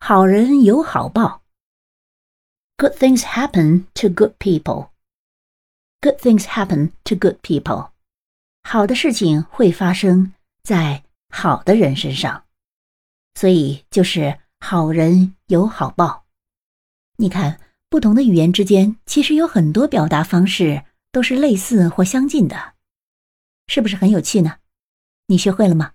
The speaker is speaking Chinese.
好人有好报。Good things happen to good people. Good things happen to good people. 好的事情会发生在好的人身上，所以就是好人有好报。你看，不同的语言之间其实有很多表达方式都是类似或相近的，是不是很有趣呢？你学会了吗？